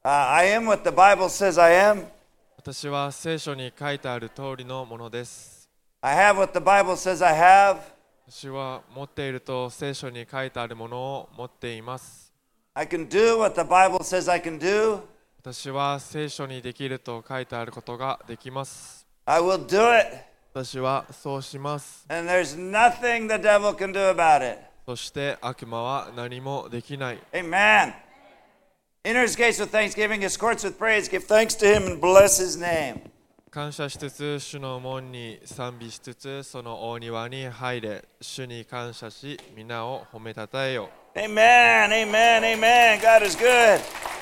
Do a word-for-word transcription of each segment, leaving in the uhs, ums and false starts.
I am what the Bible says I am. 私は聖書に書いてある通りのものです。 I have what the Bible says I have. 私は持っていると聖書に書いてあるものを持っています。 I can do what the Bible says I can do. 私は聖書にできると書いてあることができます。 I will do it. 私はそうします。 And there's nothing the devil can do about it. そして悪魔は何もできない。 Amen. Enter his gates with thanksgiving, his courts with praise. Give thanks to him and bless his name. 感謝しつつ、主の門に賛美しつつ、その大庭に入れ、主に感謝し、皆を褒めたたえよ。 Amen, amen, amen. God is good.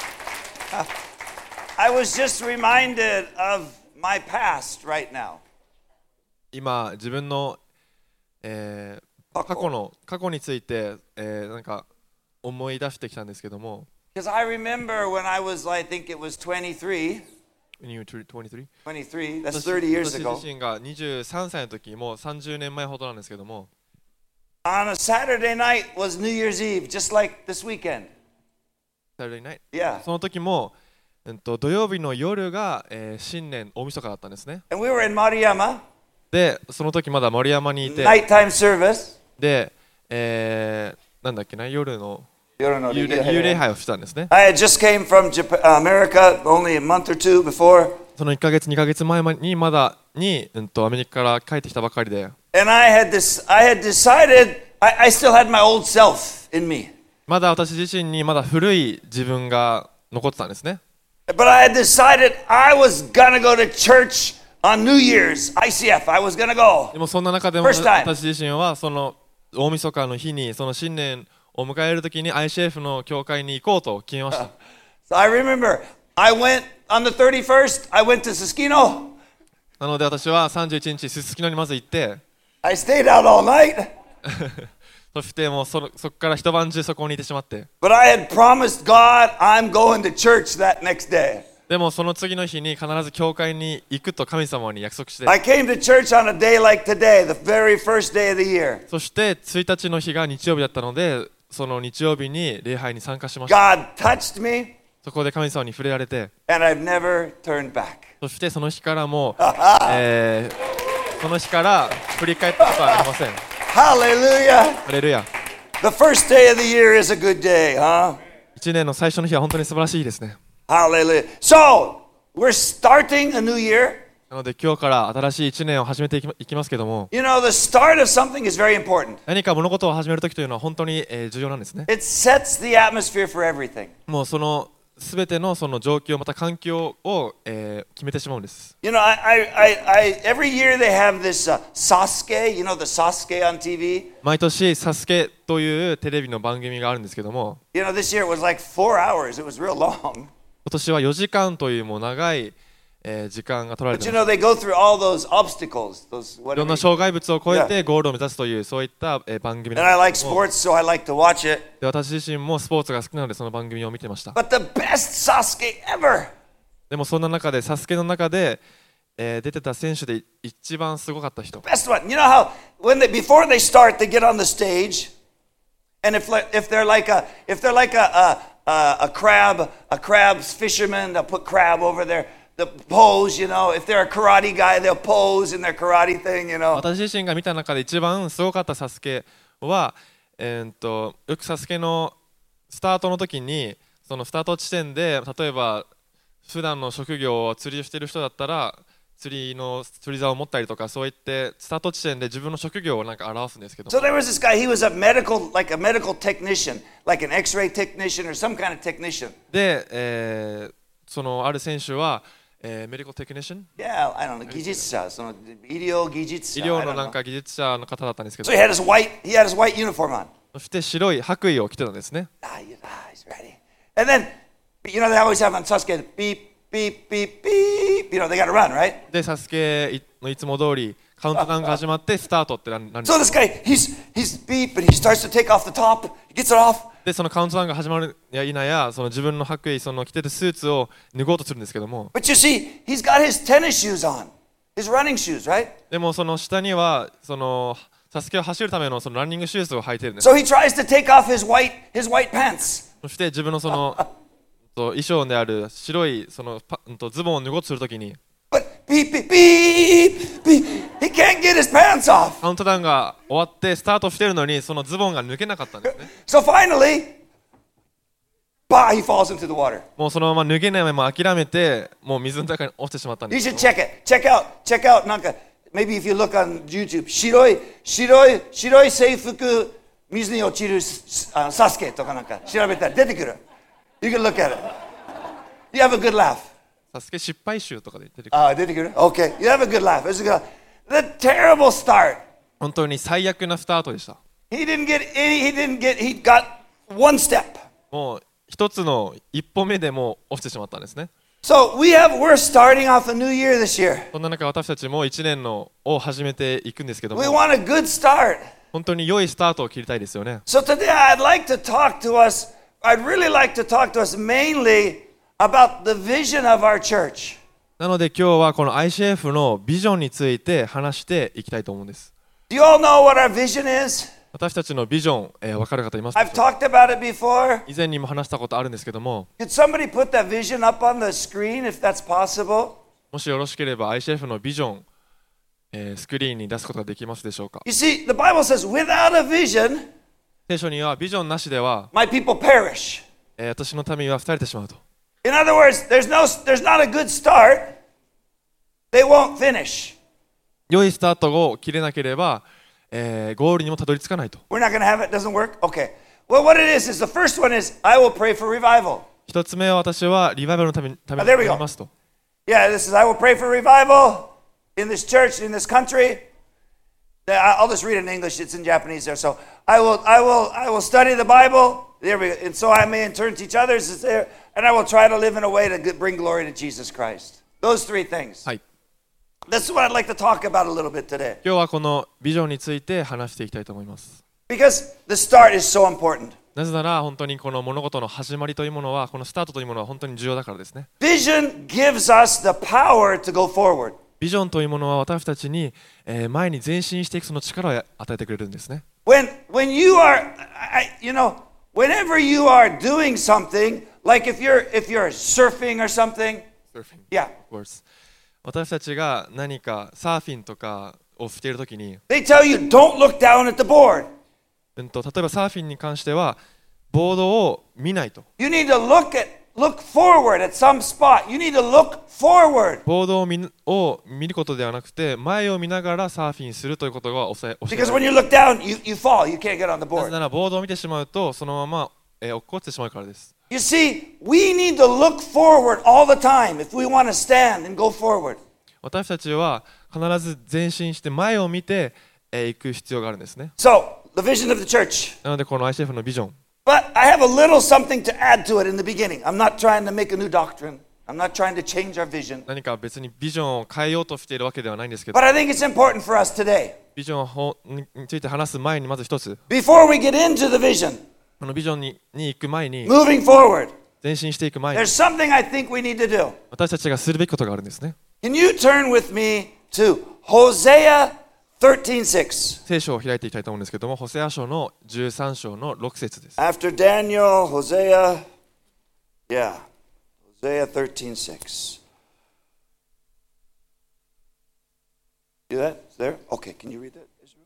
I was just reminded of my past right now. 今、自分の、えー、過去の過去について、えー、なんか思い出してきたんですけども。 Because I remember when I was, I think it was twenty-three.When you were twenty-three? twenty-three. That's thirty years ago. 私自身がにじゅうさんさいの時、もうさんじゅうねんまえほどなんですけども。 On a Saturday night was New Year's Eve, just like this weekend. Saturday night? Yeah. その時も、うんと、土曜日の夜が、えー、新年大晦日だったんですね。 And we were in Mariyama. で、その時まだ森山にいて。 Nighttime service. で、えー、なんだっけな、夜の幽霊幽霊杯をしたんですね。 I had just came from Japan, America only a month or two before. そのいっかげつにかげつまえにまだに、うんと、アメリカから帰ってきたばかりで。 And I had this, I had decided, I, I still had my old self in me. まだ私自身にまだ古い自分が残ってたんですね。 But I had decided I was gonna go to church on New Year's, I C F. I was gonna go. でもそんな中でも私自身はその大晦日の日にその新年を迎えるときに アイシーエフ の教会に行こうと決めました。 So I remember I went on the thirty-first. I went to Susukino. なので私はさんじゅういちにちすすきのにまず行って。 I stayed out all night. そしてもうそこから一晩中そこにいてしまって。 But I had promised God I'm going to church that next day. でもその次の日に必ず教会に行くと神様に約束して。 I came to church on a day like today, the very first day of the year. そしてついたちの日が日曜日だったので、その日曜日に礼拝に参加しました。 God touched me. そこで神様に触れられて。 And I've never turned back. そしてその日からもう、えー、その日から振り返ったことはありません。 Hallelujah. ハレルヤ。 The first day of the year is a good day, huh? 一年の最初の日は本当に素晴らしいですね。 Hallelujah. So, we're starting a new year. なので今日から新しい一年を始めていき、いきますけども。 You know, the start of something is very important. 何か物事を始めるときというのは本当に、えー、重要なんですね。 It sets the atmosphere for everything. もうそのすべてのその状況また環境を、えー、決めてしまうんです。 You know, I, I, I, every year they have this、uh, Sasuke. You know the Sasuke on T V. 毎年サスケというテレビの番組があるんですけども。 You know, this year it was like four hours. It was real long. 今年はよじかんというもう長い、えー、時間が取られています。 But you know, they go through all those obstacles, those whatever. いろんな障害物を越えてゴールを目指すというそういった、えー、番組なん And I で like すけども。 sports, so I like to watch it. で私自身もスポーツが好きなのでその番組を見てました。 But the best Sasuke ever. でもそんな中でサスケの中で、えー、出てた選手で一番すごかった人。 Best one. You know how when they before they start, they get on the stage, and if if they're like a if they're like a a, a crab a crab's fisherman, they'll put crab over there. The pose, you know, if they're a karate guy, they'll pose in their karate thing, you know. 私自身が見た中で一番すごかったサスケは、えー、とよくサスケのスタートの時にそのスタート地点で例えば普段の職業を釣りをしている人だったら釣りの釣り竿を持ったりとかそういってスタート地点で自分の職業をなんか表すんですけど。 So there was this guy, he was a medical, like a medical technician, like an X-ray technician or some kind of technician. で、えー、そのある選手はえー、メディカルテクニシャン Yeah, I don't know, 技術者、その医療技術者。 医療のなんか技術者の方だったんですけど。 So he had his white, he had his white uniform on. そして白い白衣を着てたんですね。 Ah, he's ready. And then, you know, they always have on Sasuke, beep, beep, beep, beep. You know, they got to run, right? で、サスケのいつも通りカウントダウンが始まってスタートってなるんです。 So this guy, he's he's beep, and he starts to take off the top. He gets it off. で、そのカウントダウンが始まるや否や、その自分の白衣、その着てるスーツを脱ごうとするんですけども。 But you see, he's got his tennis shoes on, his running shoes, right? でもその下にはそのサスケを走るためのそのランニングシューズを履いてるんです。 So he tries to take off his white his white pants. そして自分のそのそう衣装である白いそのパうんとズボンを脱ごうとするときに But beep, beep, beep, beep. He can't get his pants off. カウントダウンが終わってスタートしてるのにそのズボンが抜けなかったんですね。 So finally, bah, he falls into the water. もうそのまま脱げないまま諦めてもう水の中に落ちてしまったん You です should けど check it. Check out, check out. なんか maybe if you look on YouTube, 白い白い白い制服水に落ちるあサスケとかなんか調べたら出てくる。You can look at it. You have a good laugh. サスケ失敗集とかで出てくる。 あ、出てくる Okay. You have a good laugh. It's a good, the terrible start. 本当に最悪なスタートでした。 He didn't get any, he didn't get, he got one step. もう一つの一歩目でもう落ちてしまったんですね。 So we have, we're starting off a new year this year. そんな中私たちも一年のを始めていくんですけども We want a good start. 本当に良いスタートを切りたいですよね。 So today I'd like to talk to us, I'd really like to talk to us mainly about the vision of our church. なので今日はこの アイシーエフ のビジョンについて話していきたいと思うんです。 Do you all know what our vision is? 私たちのビジョン、えー、分かる方いますで I've しょうか。 talked about it before. 以前にも話したことあるんですけども、 Could somebody put that vision up on the screen if that's possible? もしよろしければ アイシーエフ のビジョン、えー、スクリーンに出すことができますでしょうか。 You see, the Bible says, without a vision, 聖書にはビジョンなしでは、 my people perish. えー、私の民は廃れてしまうと。 In other words, there's no, there's not a good start. They won't finish. 良いスタートを切れなければ、えー、ゴールにもたどり着かないと。 We're not going to have it. Doesn't work? Okay. Well, what it is, is the first one is, I will pray for revival. 一つ目は私はリバイバルのためにために Ah, there we 祈 go. りますと。 Yeah, this is, I will pray for revival in this church, in this country. I- I'll just read it in English. It's in Japanese there. So I will, I will, I will study the Bible. There we go. And so I may in turn teach others. It's there. And I will try to live in a way to g- bring glory to Jesus Christ. Those three things. はい。 That's what I'd like to talk about a little bit today. 今日はこのビジョンについて話していきたいと思います。 Because the start is so important. なぜなら本当にこの物事の始まりというものは、このスタートというものは本当に重要だからですね。 Vision gives us the power to go forward. ビジョンというものは私たちに、えー前に前進していくその力を与えてくれるんですね。 When, when you are, I, you know, whenever you are doing something, like if you're, if you're surfing or something, yeah, Of course. 私たちが何かサーフィンとかをしているときに、 they tell you don't look down at the board. うんと、例えばサーフィンに関してはボードを見ないと。 You need to look at, look forward at some spot. You need to look forward. ボードを 見, を見ることではなくて前を見ながらサーフィンするということが教え教えら Because れ when る。 you look down, you, you fall. You can't get on the なぜ board. ならボードを見てしまうとそのまま、えー、落っこちてしまうからです。 You see, we need to look forward all the time if we want to stand and go forward. 私たちは必ず前進して前を見て、えー、行く必要があるんですね。 So, the vision of the church. なのでこの アイシーエフ のビジョン、 But I have a little something to add to it in the beginning. I'm not trying to make a new doctrine. I'm not trying to change our vision. 何か別にビジョンを変えようとしているわけではないんですけど、 But I think it's important for us today. ビジョンについて話す前にまず一つ、 Before we get into the vision, このビジョンにに行く前に、 moving forward, 前進していく前に there's something I think we need to do. 私たちがするべきことがあるんですね。 Can you turn with me to Hosea thirteen six? 聖書を開いていきたいと思うんですけども、ホセア書のじゅうさん章のろく節です。 After Daniel, Hosea, yeah, Hosea thirteen six. See that? It's there? Okay, can you read that, Israel?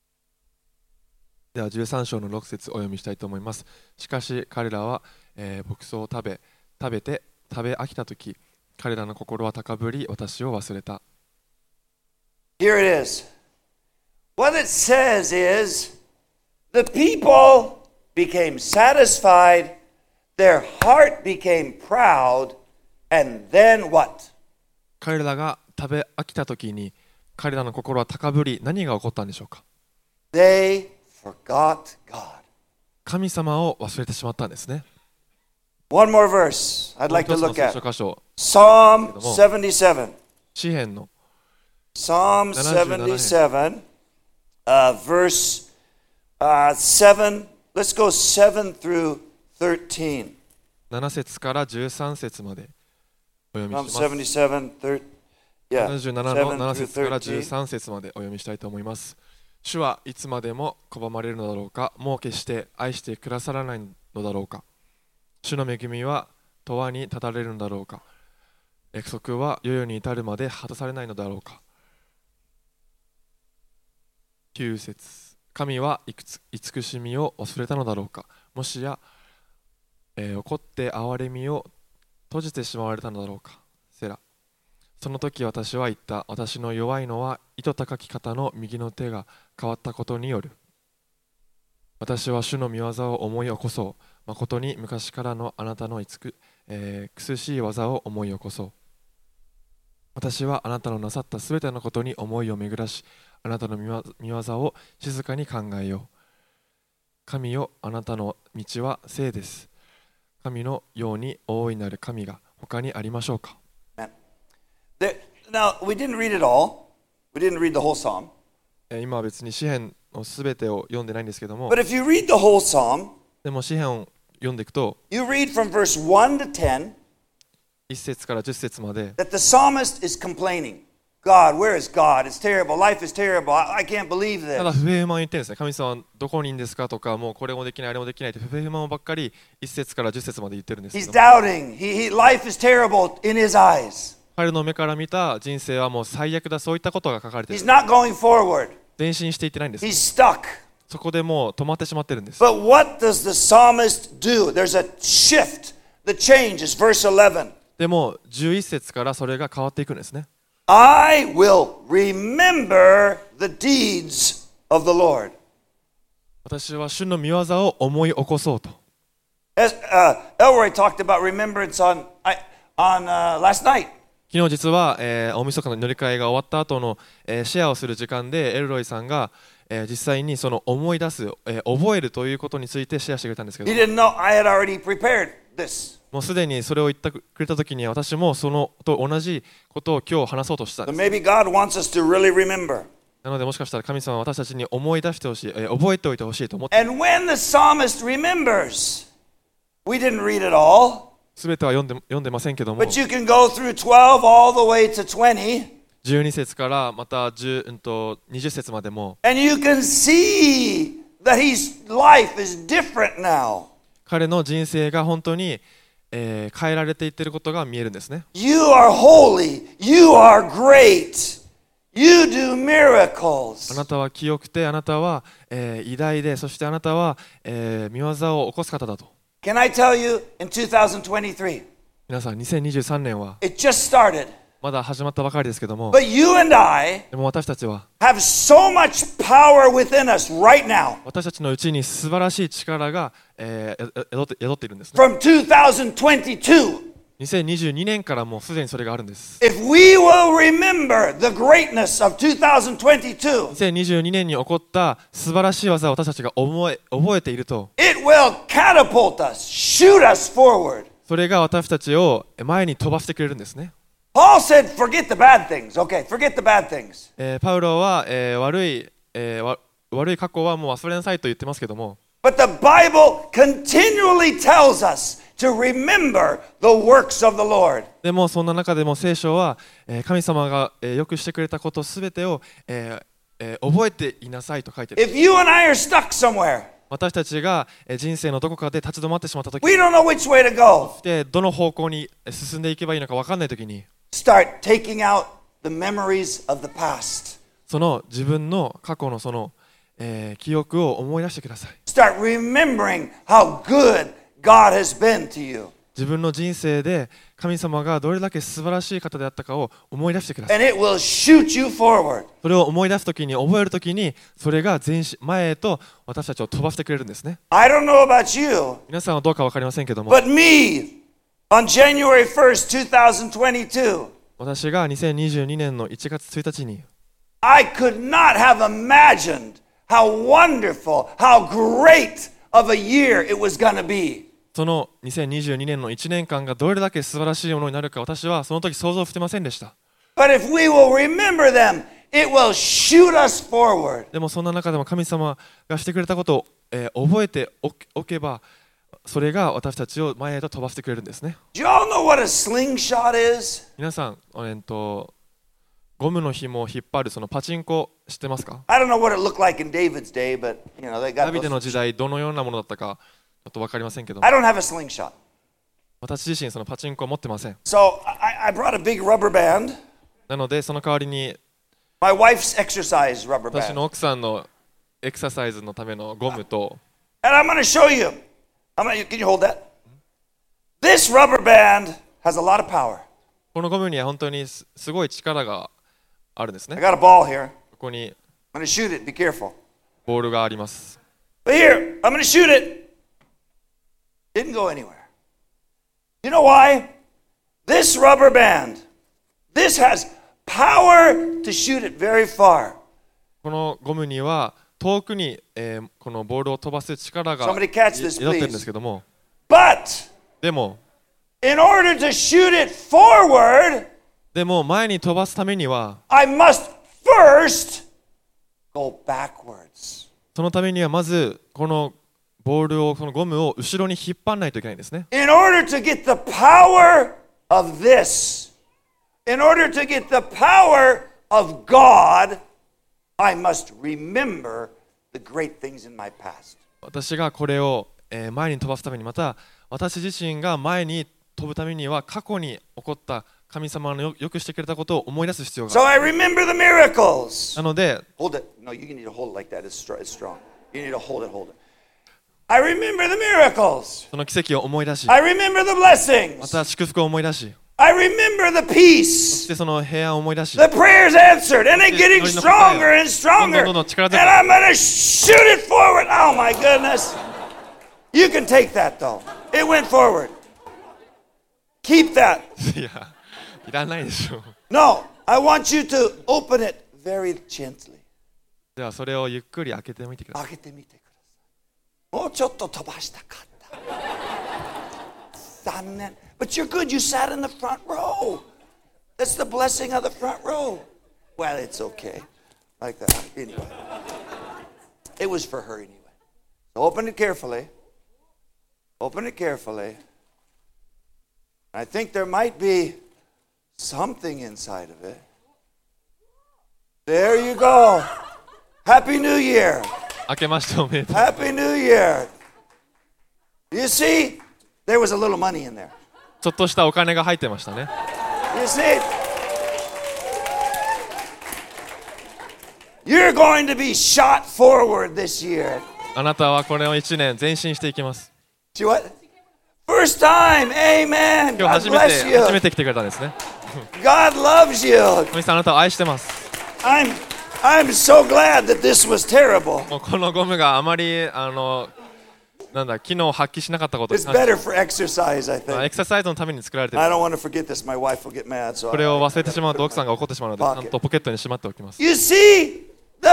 ではじゅうさん章のろく節お読みしたいと思います。しかし彼らは、えー牧草を食べ食べて食べ飽きたとき、彼らの心は高ぶり私を忘れた。 Here it is. What it says is, the people became satisfied, their heart became proud, and then what? 彼らが食べ飽きたときに彼らの心は高ぶり、何が起こったんでしょうか。 They forgot God. 神様を忘れてしまったんですね。 One more verse I'd もう like 一 to つの look 聖 at. 書箇所、 Psalm seventy-seven. 詩篇の Psalm seventy-seven, uh, verse uh, seven. Let's go seven through thirteen. なな節からじゅうさん節までお読み Psalm します。 seventy-seven, thir- yeah, ななじゅうななの seven なな through 節からじゅう thirteen. さん節までお読みしたいと思います。主はいつまでも拒まれるのだろうか。もう決して愛してくださらないのだろうか。主の恵みは永遠に立たれるのだろうか。約束は世々に至るまで果たされないのだろうか。きゅう節、神はいくつ慈しみを忘れたのだろうか。もしや、えー、怒って憐れみを閉じてしまわれたのだろうか。セラ。その時私は言った。私の弱いのは糸高き方の右の手が変わったことによる。私は主の御業を思い起こそう。誠に昔からのあなたの慈く、えー、苦しい技を思い起こそう。私はあなたのなさったすべてのことに思いを巡らし、あなたの御業を静かに考えよう。神よ、あなたの道は聖です。神のように大いなる神が他にありましょうか。 Now, we didn't read it all. We didn't read the whole psalm. 今は別に詩篇のすべてを読んでないんですけども、 But if you read the whole psalm, でも詩篇を読んでいくと、 you read from verse one to ten いち節からじゅっ節まで、 that the psalmist is complaining. God, where is God? It's terrible. Life is terrible. I, I can't believe ただ this. 不平不満を言ってるんですね。神様はどこにいるんですかとか、もうこれもできない、あれもできないって不平不満をばっかりいち節からじゅっ節まで言ってるんですけ He's ど、 doubting. He, he, life is terrible in his eyes. 彼の目から見た人生はもう最悪だ、そういったことが書かれてい He's る。 not going forward. 前進していってないんです。 He's stuck. そこでもう止まってしまってるんです。 But what does the psalmist do? There's a shift. The change is verse eleven. でもじゅういち節からそれが変わっていくんですね。 I will remember the deeds of the Lord. 私は主の御業を思い起こそうと。 As uh, Elroy talked about remembrance on, I, on uh, last night. 昨日実は、えー、大晦日の乗り換えが終わった後の、えー、シェアをする時間でエルロイさんが、えー、実際にその思い出す、えー、覚えるということについてシェアしてくれたんですけど、 He didn't know I had already prepared this. もうすでにそれを言ってくれた時に私もそのと同じことを今日話そうとしたん So です。 maybe God wants us to really remember. なのでもしかしたら神様は私たちに思い出してほしい、えー、覚えておいてほしいと思って、 And when the psalmist remembers, we didn't read it all, すべては読んで読んでませんけども、 but you can go through twelve all the way to twenty, じゅうに節からまたじゅう、うんと、にじゅう節までも and you can see that his life is different now. 彼の人生が本当に、えー変えられていっていることが見えるんですね。 You are holy. You are great. You do miracles. あなたは清くて、あなたは、えー偉大で、そしてあなたは、えー御業を起こす方だと。 Can I tell you, in two thousand twenty-three, 皆さん、にせんにじゅうさんねんは it just started, まだ始まったばかりですけども、 but you and I でも私たちは、 have so much power within us right now. 私たちのうちに素晴らしい力が、えーえ宿って宿っているんですね。 From two thousand twenty-two, にせんにじゅうにねんからもうすでにそれがあるんです。 if we will remember the greatness of two thousand twenty-two, にせんにじゅうにねんに起こった素晴らしい技を私たちが覚え、覚えていると、 it will catapult us, shoot us forward. それが私たちを前に飛ばしてくれるんですね。 Paul said, forget the bad things. Okay, forget the bad things. えーパウロは、えー悪い、えーわ悪い過去はもう忘れなさいと言ってますけども、 But the Bible continually tells us to remember the works of the Lord. でもそんな中でも聖書は、えー神様が、えーよくしてくれたことすべてを、えーえー覚えていなさいと書いてある。 If you and I are stuck somewhere, 私たちがえー人生のどこかで立ち止まってしまったとき we don't know which way to go. で、どの方向に進んでいけばいいのか分かんないときに、 Start taking out the memories of the past. その自分の過去のその、えー記憶を思い出してください。 Start remembering how good God has been to you. 自分の人生で神様がどれだけ素晴らしい方であったかを思い出してください。 And it will shoot you forward. それを思い出すときに、覚えるときに、それが前進前へと私たちを飛ばしてくれるんですね。 I don't know about you, 皆さんはどうか分かりませんけども、 but me, on January first, twenty twenty-two, 私がにせんにじゅうにねんのいちがつついたちに、 I could not have imagined how wonderful, how great of a year it was going to be. そのにせんにじゅうにねんのいちねんかんがどれだけ素晴らしいものになるか、私はその時想像してませんでした。 But if we will remember them, it will shoot us forward. でもそんな中でも神様がしてくれたことを、えー覚えておけおけば、それが私たちを前へと飛ばしてくれるんですね。 Do you all know what a slingshot is? 皆さん、えーっとゴムの紐を引っ張るそのパチンコ知ってますか？ I don't know what it looked like in David's day, but you know they ダ got ビデの those. 時代どのようなものだったかちょっと分かりませんけども、 I don't have a slingshot. 私自身そのパチンコを持ってません。 So I, I brought a big rubber band, なのでその代わりに my wife's exercise rubber 私 band. の奥さんのエクササイズのためのゴムと、 And I'm going to show you. I'm gonna, can you hold that? This rubber band has a lot of power. このゴムには本当にすすごい力があるんです I ね。 got a ball here. ここに I'm going to shoot it. Be careful. ボールがあります。 But here, I'm going to shoot it. Didn't go anywhere. You know why? This rubber band, this has power to shoot it very far. このゴムには遠くに、えーこのボールを飛ばす力が Somebody catch this, 宿ってるんで please. すけども、 But でも in order to shoot it forward, でも前に飛ばすためには I must first go backwards. そのためにはまずこのボールをこのゴムを後ろに引っ張らないといけないんですね。 In order to get the power of this, in order to get the power of God, I must remember the great things in my past. 私がこれを、えー前に飛ばすために、また私自身が前に飛ぶためには過去に起こった神様のよよくしてくれたことを思い出す必要が So ある。 I remember the miracles. なので Hold it. No, you need to hold it like that. It's, str- it's strong. You need to hold it, hold it. I remember the miracles. その奇跡を思い出し、 I remember the ま blessings. た祝福を思い出し、 I remember the そ peace. してその平安を思い出し、 The prayers answered, and it getting stronger and stronger. And I'm going to shoot it forward. Oh my goodness. You can take that though. It went forward. Keep that. いや、いらないでしょう。 No, I want you to open it very gently. ではそれをゆっくり開けてみてください。 開けてみてください。もうちょっと飛ばしたかった。残念。But you're good. You sat in the front row. That's the blessing of the front row. Well, it's okay. Like that. Anyway. It was for her anyway. So open it carefully. Open it carefully. I think there might be something inside of it. There you go. Happy New Year. 開けましておめでとう。 Happy New Year. You see, there was a little money in there. ちょっとしたお金が入ってましたね。 You see, you're going to be shot forward this year. あなたはこれをいちねん前進していきます。 See what? First time. Amen. 今日 God 初め bless て you. 初めて来てくれたんですね。 God loves you. 神様あなたを愛してます。 I'm I'm so glad that this was terrible. もうこのゴムがあまりあのなんだ機能を発揮しなかったことに It's 関して better for exercise, I まあエ think. クササイズのために作られてい I る。 don't want to forget this. My wife will get mad. So これを I, 忘れてしまうと奥さんが怒ってしまうので、ちゃんとポケットにしまっておきます。 You see, the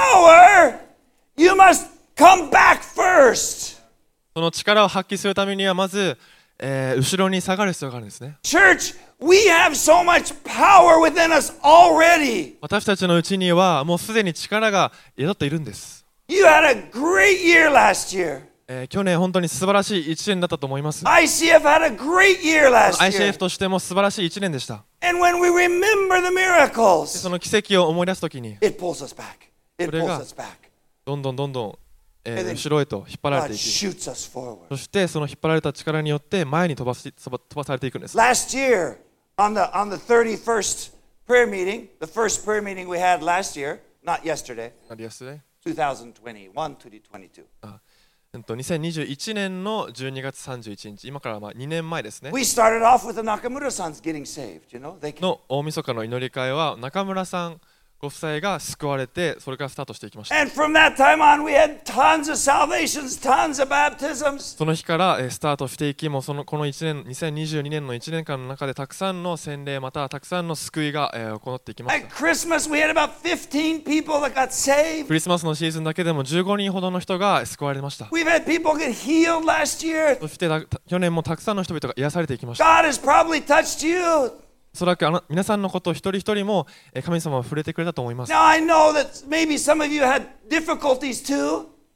power, you must come back first. その力を発揮するためにはまず、えー後ろに下がる必要があるんですね。 Church, we have so much power within us already. 私たちのうちにはもうすでに力が宿っているんです。 You had a great year last year. えー去年本当に素晴らしいいちねんだったと思います。 I C F had a great year last アイシーエ year. フ としても素晴らしいいちねんでした。 And when we remember the で miracles, その奇跡を思い出すときに it pulls us back. It それが pulls us back. どんどんどんどん、えー And then 後ろへと引っ張られ God ていき、 shoots us forward. そしてその引っ張られた力によって前に飛ばし飛ば飛ばされていくんです。 Last year, on the on the thirty-first prayer meeting, the first prayer meeting we had last year, not yesterday, ありやすい twenty twenty-one, twenty twenty-two. うんとにせんにじゅういちねんのじゅうにがつさんじゅういちにち、今からまあにねんまえですね We started off with the Nakamura sons getting saved. You know, they の大晦日の祈り会は中村さんご夫妻が救われて、それからスタートしていきました。 and from that time on, we had tons of salvations, tons of baptisms. その日からえースタートしていき、もうそのこのいちねんにせんにじゅうにねんのいちねんかんの中でたくさんの洗礼またはたくさんの救いがえー行っていきまし At た。 Christmas, we had about fifteen people that got saved. クリスマスのシーズンだけでもじゅうごにんほどの人が救われました。 We've had people get healed last year. そしてた去年もたくさんの人々が癒されていきました。 God has probably touched you. おそらくあの皆さんのことを一人一人もえー神様は触れてくれたと思います。 Now, I know that maybe some of you had difficulties too.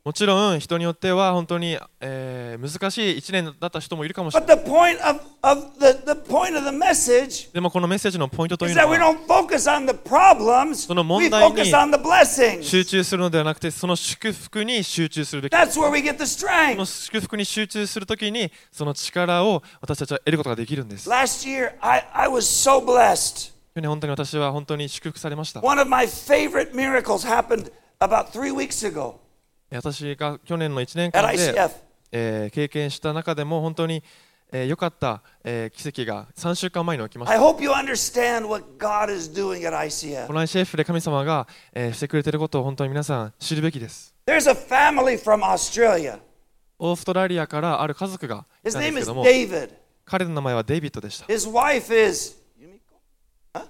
もちろん人によっては本当に、えー難しいいちねんだった人もいるかもしれ But ない。 the point of, of the, the point of the message でもこのメッセージのポイントとい is うの that we は don't focus on the problems, その we 問題に focus on the blessings. 集中するのではなくて、その祝福に集中するべき。 That's where we get the その strength. 祝福に集中するときにその力を私たちは得ることができるんです。 Last year, I, I was so blessed. 去年本当に私は本当に祝福されました。 One of my favorite miracles happened about three weeks ago 私が去年のいちねん at かん I C で、 F. えー経験した中でも本当にえー良かった、えー奇跡がさんしゅうかんまえに起きまし I た。 hope you understand what God is doing at I C F. この アイシーエフ で神様が、えーしてくれていることを本当に皆さん知るべきです。 There's a family from Australia. オーストラリアからある家族がい His たんで name すけ is ども、 David. 彼の名前はデイビッドでした。 His wife is Yumiko? Huh?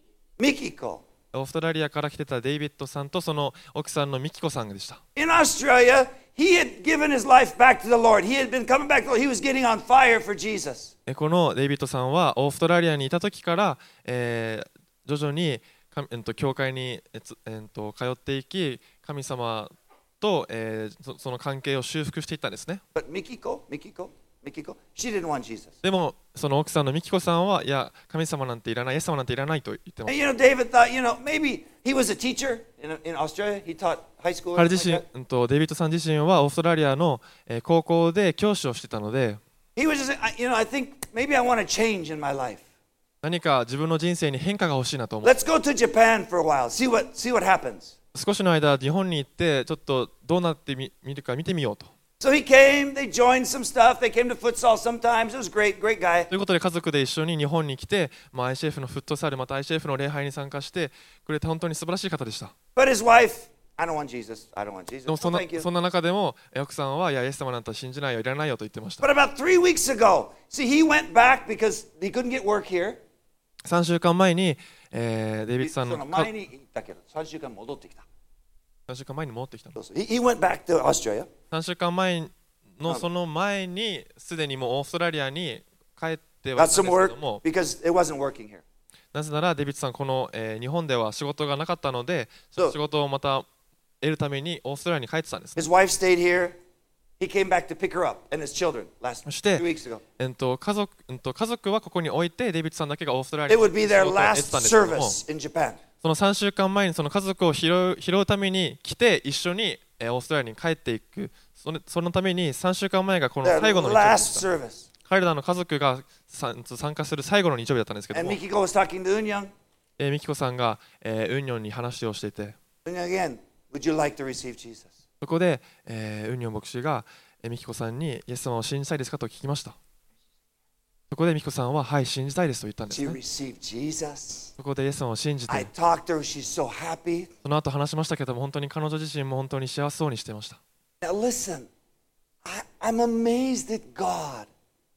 Mikiko. オーストラリアから来てたデイビッドさんとその奥さんのミキコさんでした。 In Australia, he had given his life back to the Lord. He had been coming back to the Lord. He was getting on fire for Jesus. えこのデイビッドさんはオーストラリアにいた時から、えー徐々にか、えっと、教会に、えつえっと、通っていき、神様と、えーそ、その関係を修復していったんですね。 But Mikiko, Mikiko, Mikiko, she didn't want Jesus. でもその奥さんのミキコさんはいや神様なんていらない、イエス様なんていらないと言ってま And す。 you know, David thought, you know, maybe he was a teacher in, in Australia. He taught high school. 彼 or 自 something 身 like that.、 うんと、デイビッドさん自身はオーストラリアの、えー高校で教師をしてたので、 He was just, I- you know, I think maybe I want to change in my life. 何か自分の人生に変化が欲しいなと思う。 Let's go to Japan for a while. See what see what happens. 少しの間日本に行ってちょっとどうなってみ見るか見てみようと。 So he came. They joined some stuff. They came to futsal sometimes. It was great, great guy. ということで家族で一緒に日本に来て、まあ、アイシーエフ のフットサルまた アイシーエフ の礼拝に参加してくれて本当に素晴らしい方でした。 But his wife, I don't want Jesus. I don't want Jesus. でも No, そんな thank you. そんな中でもえ奥さんはいやイエス様なんて信じないよいらないよと言ってました。 But about three weeks ago, see, he went back because he couldn't get work here. さんしゅうかんまえに、えーデイビッドさんのその前に行ったけど、さんしゅうかん戻ってきた。 さんしゅうかんまえに戻ってきたの。 そうそう He, he went back to Australia. さんしゅうかんまえのその前にすでにもうオーストラリアに帰ってはい Got たん some ですけ work ども、 because it wasn't working here. なぜならデイビッドさんこの、えー日本では仕事がなかったので、 そう仕事をまた得るためにオーストラリアに帰ってたんですね。 His wife stayed here. He came back to pick her up and his children last そして two weeks ago. えっと家族、うんと家族はここに置いてデイビッドさんだけがオーストラリ It アに would be 仕 their 事を得て last たんですけども、 service in Japan. そのさんしゅうかんまえにその家族を拾う拾うために来て一緒にえーオーストラリアに帰っていく、そのそのためにさんしゅうかんまえがこの Their 最後の日曜日で last した。 service. 彼らの家族がさん参加する最後の日曜日だったんですけど And も、 Mikiko was talking to Unyoung. えーミキコさんが、えーウンニョンに話をしていて、 Unyoung again, would you like to receive Jesus? そこで、えーウンニョン牧師が、えーミキコさんにイエス様を信じたいですかと聞きました。そこでミキコさんははい信じたいですと言ったんです She ね。 received Jesus. そこでイエス様を信じ I て、 talked to her. She's so happy. その後話しましたけども本当に彼女自身も本当に幸せそうにしていました。 Now listen, I, I'm amazed at God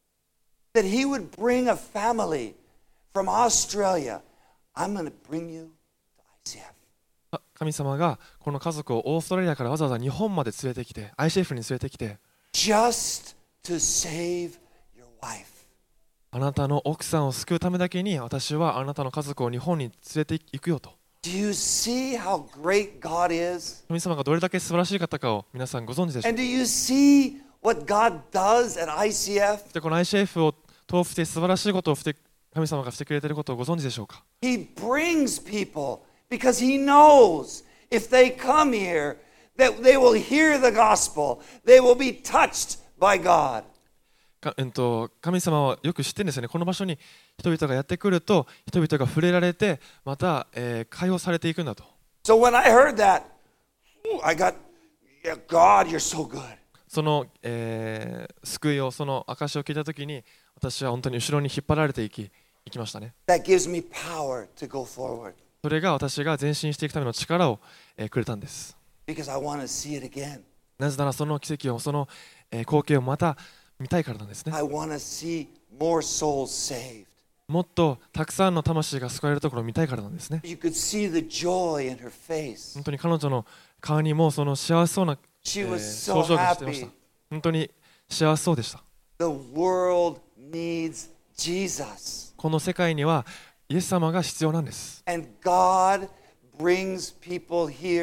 that He would bring a family from Australia. I'm going to bring you to I C F. あ神様がこの家族をオーストラリアからわざわざ日本まで連れてきて アイシーエフ に連れてきて、 Just to save your wife. あなたの奥さんを救うためだけに私はあなたの家族を日本に連れて行くよと。 Do you see how great God is? 神様がどれだけ素晴らしい方かを皆さんご存知でしょう And do you see what God does at I C F? か。でこの アイシーエフ を通して素晴らしいことをして神様がしてくれていることをご存知でしょうか。 He brings people because He knows if they come here that they will hear the gospel, they will be touched by God. かえっと、神様はよく知ってるんですよね。この場所に人々がやってくると人々が触れられてまた、えー解放されていくんだと。 So when I heard that, ooh, I got, yeah, God, you're so good. その、えー救いをその証を聞いたときに私は本当に後ろに引っ張られていき行きましたね。 That gives me power to go forward それが私が前進していくための力を、えーくれたんです。 because I want to see it again. なぜならその奇跡をその、えー光景をまた見たいからなんですね。 I want to see more souls saved. もっとたくさんの魂が救われるところを見たいからなんですね。 You could see the joy in her face. 本当に彼女の顔にもその幸せそうな、え She ー was so 表情がしていました。 happy. 本当に幸せそうでした。 The world needs Jesus. この世界にはイエス様が必要なんです。 And God brings people here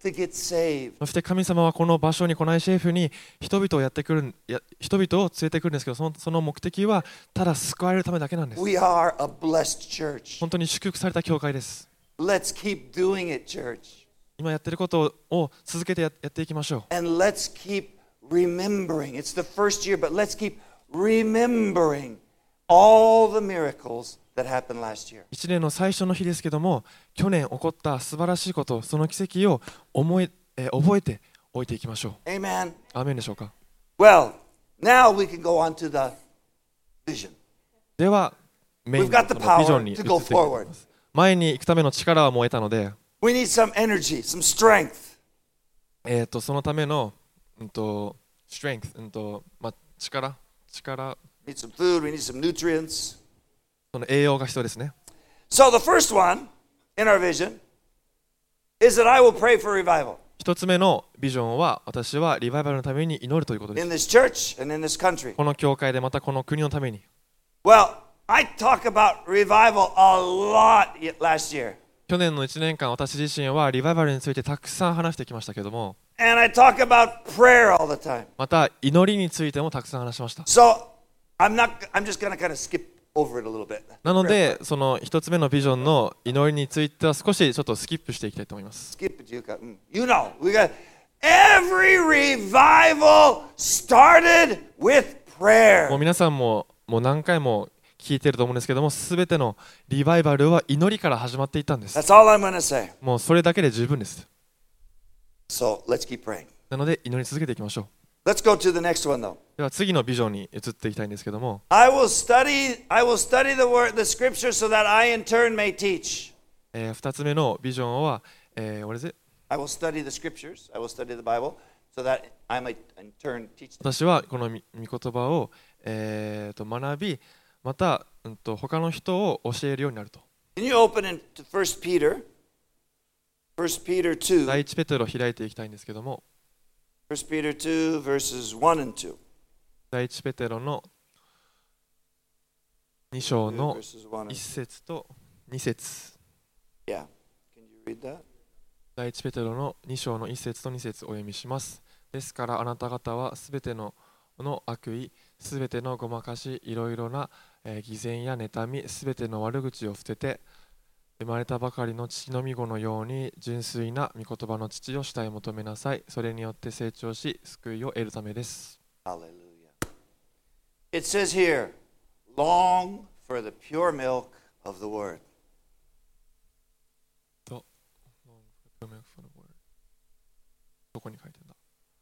to get saved. そして神様はこの場所に、この アイシーエフ に人々をやってくる、や人々を連れてくるんですけど、その、その目的はただ救われるためだけなんです。 We are a blessed church. 本当に祝福された教会です。 Let's keep doing it, church. 今やってることを続けて や, やっていきましょう。 And let's keep remembering. It's the first year, but let's keep remembering all the miracles that happened last year. 一年の最初の日ですけども、去年起こった素晴らしいこと、その奇跡を思い、えー覚えておいていきましょう。 Amen. アーメンでしょうか。 Well, now we can go on to the vision. ではメイン We've の got the そのビジョンに移 power って to い go きたいと思います。前に行くための力はもう得たので、 We need some energy, some strength. えー、とそのための、うん、と strength、うんとまあ、力、力、 We need some food, we need some nutrients. その栄養が必要ですね。 So the first one in our vision is that I will pray for revival 一つ目のビジョンは、私はリバイバルのために祈るということです。 in this church and in this country. この教会でまたこの国のために。 Well, I talk about revival a lot y- last year. 去年のいちねんかん、私自身はリバイバルについてたくさん話してきましたけども、 And I talk about prayer all the time. また祈りについてもたくさん話しました。 So I'm not I'm just gonna kind of skip over it a little bit. なので、その一つ目のビジョンの祈りについては少しちょっとスキップしていきたいと思います。 Skip it, you got mm. You know, we got every revival started with もう prayer. 皆さんももう何回も聞いてると思うんですけども、すべてのリバイバルは祈りから始まっていったんです。 That's all I'm gonna say. もうそれだけで十分です。 So let's keep praying. なので祈り続けていきましょう。 Let's go to the next one though. では次のビジョンに移っていきたいんですけども、 I will study I will study the word the scripture so that I in turn may teach. えー、ふたつめのビジョンは、えー、what is it? I will study the scriptures. I will study the Bible so that I might in turn teach them. 私はこの御言葉を、えー、と学び、また、うん、と他の人を教えるようになると。 Can you open into First Peter? First Peter 第 two. 一ペテロを開いていきたいんですけども、 First Peter two verses one and two. 第一ペテロのに章の Verses one and いち節とに節。 Yeah. Can you read that? 第一ペテロのに章のいち節とに節お読みします。ですからあなた方はすべてのの悪意、すべてのごまかし、いろいろな、えー偽善や妬み、すべての悪口を捨てて、生まれたばかりの父の御子のように純粋な御言葉の父を主体求めなさい。それによって成長し、救いを得るためです。 Hallelujah. It says here, long for the pure milk of the word. と、どこに書いてんだ。